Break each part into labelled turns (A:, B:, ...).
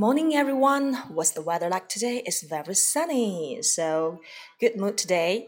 A: Morning, everyone. What's the weather like today? It's very sunny, so good mood today.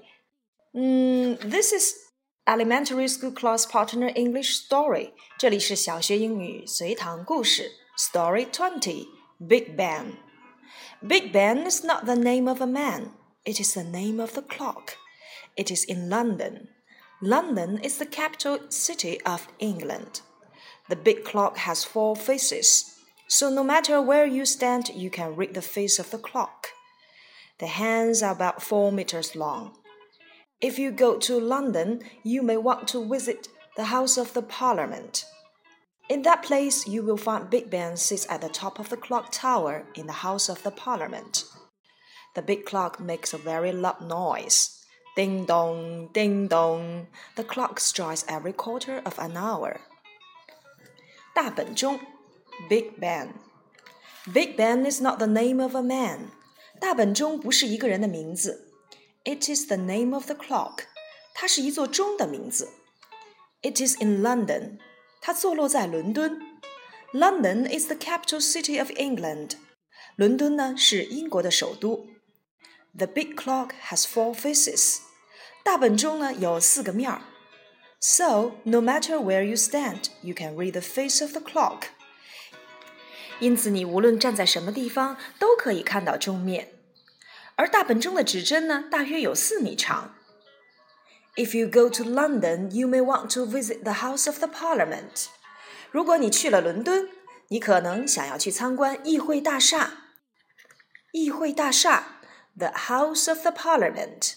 A: This is elementary school class partner English story. 这里是小学英语随堂故事 Story 20 Big Ben. Big Ben is not the name of a man. It is the name of the clock. It is in London. London is the capital city of England. The big clock has 4 faces.So no matter where you stand, you can read the face of the clock. The hands are about 4 meters long. If you go to London, you may want to visit the House of the Parliament. In that place, you will find Big Ben sits at the top of the clock tower in the House of the Parliament. The big clock makes a very loud noise. Ding dong, ding dong. The clock strikes every quarter of an hour. 大本钟Big Ben. Big Ben is not the name of a man. 大本钟不是一个人的名字。It is the name of the clock. 它是一座钟的名字。It is in London. 它坐落在伦敦。London is the capital city of England. 伦敦呢是英国的首都。The big clock has 4 faces. 大本钟呢有4个面儿。So, no matter where you stand, you can read the face of the clock.因此你无论站在什么地方都可以看到钟面，而大本钟的指针呢大约有4米长。If you go to London, you may want to visit the House of the Parliament. 如果你去了伦敦，你可能想要去参观议会大厦。议会大厦 The House of the Parliament.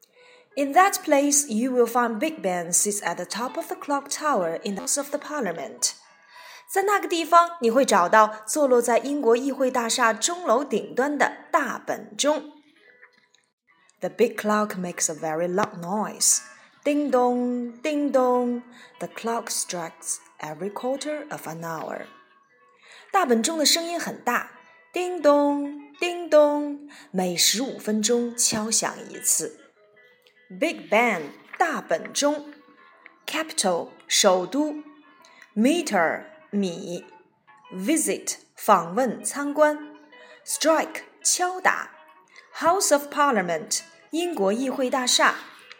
A: In that place, you will find Big Ben sits at the top of the clock tower in the House of the Parliament.在那个地方，你会找到坐落在英国议会大厦钟楼顶端的大本钟。The big clock makes a very loud noise. Ding dong, ding dong. The clock strikes every quarter of an hour. 大本钟的声音很大，叮咚，叮咚，每15分钟敲响一次。Big Ben 大本钟 Capital 首都 Meter米 Visit 访问参观 Strike 敲打 House of Parliament 英国议会大厦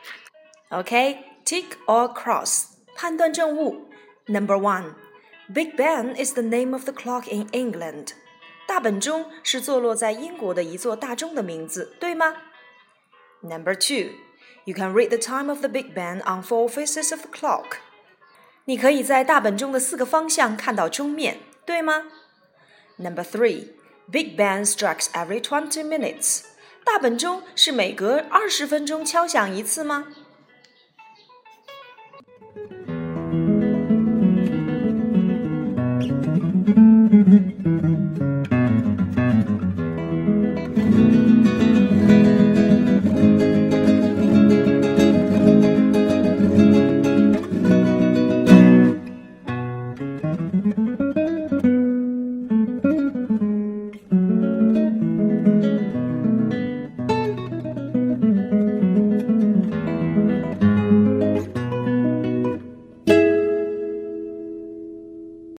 A: OK, tick or cross 判断正误 Number 1 Big Ben is the name of the clock in England 大本钟是坐落在英国的一座大钟的名字，对吗？ Number 2 You can read the time of the Big Ben on 4 faces of the clock你可以在大本钟的4个方向看到钟面，对吗？ Number 3 Big Ben strikes every 20 minutes 大本钟是每隔20分钟敲响一次吗？